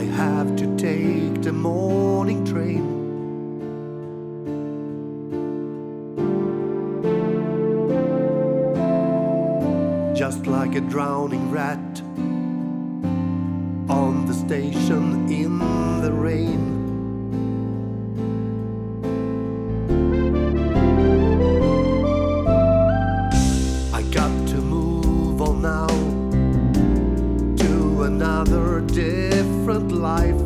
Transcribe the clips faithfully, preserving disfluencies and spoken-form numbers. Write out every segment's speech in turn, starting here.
have to take the morning train. Just like a drowning rat on the station in the rain. I got to move on now to another different life.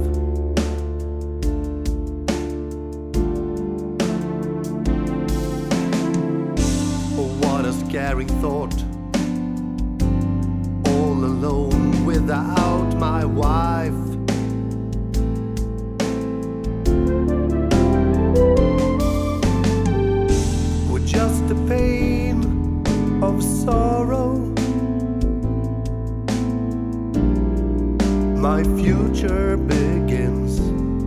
Oh, what a scaring thought, all alone without my wife. With just the pain of sorrow, my future begins.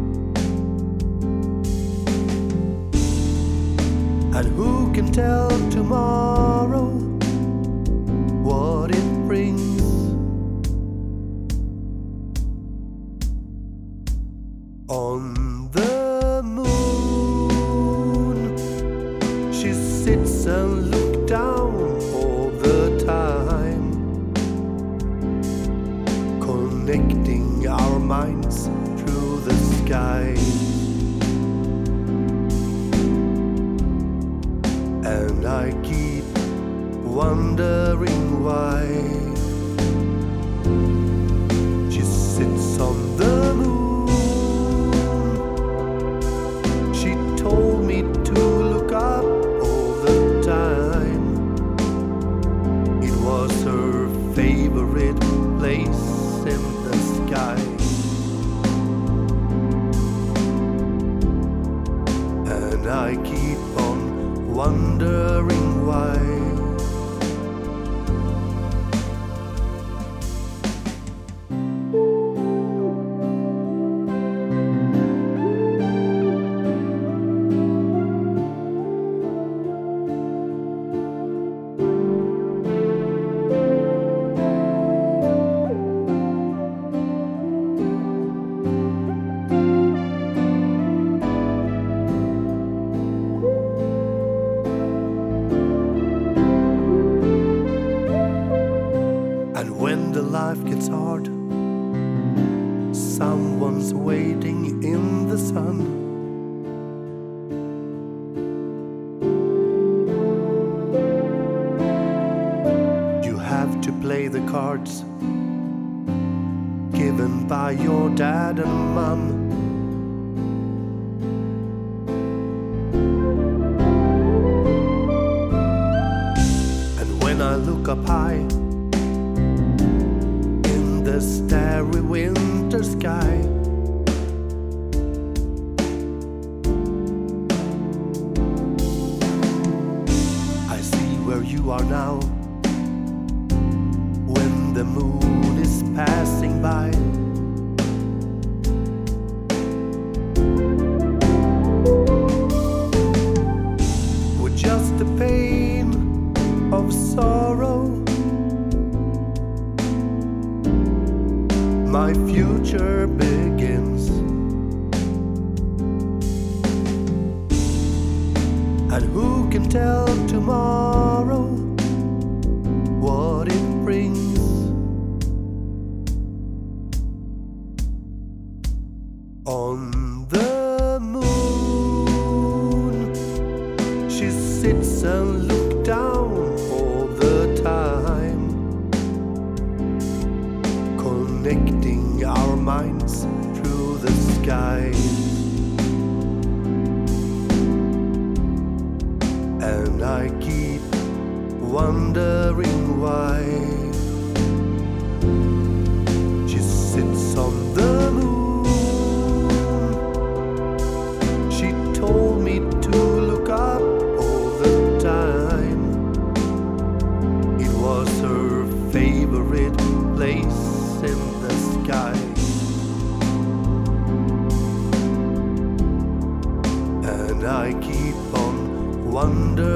And who can tell tomorrow what it brings? On the moon, she sits and looks down all the time, connecting our minds through the sky. And I keep wondering why she sits on the moon. She told me to look up all the time. It was her favorite place in the sky. And I keep on wondering why. And when the life gets hard, someone's waiting in the sun. You have to play the cards given by your dad and mum. And when I look up high the starry winter sky, I see where you are now when the moon is passing by. With just the pain of sorrow, my future begins. And who can tell tomorrow what it brings? On the moon, she sits and looks down all the time, connecting our minds through the sky. And I keep wondering why she sits on the moon. She told me to look up all the time. It was her favorite place in the sky. And I keep on wondering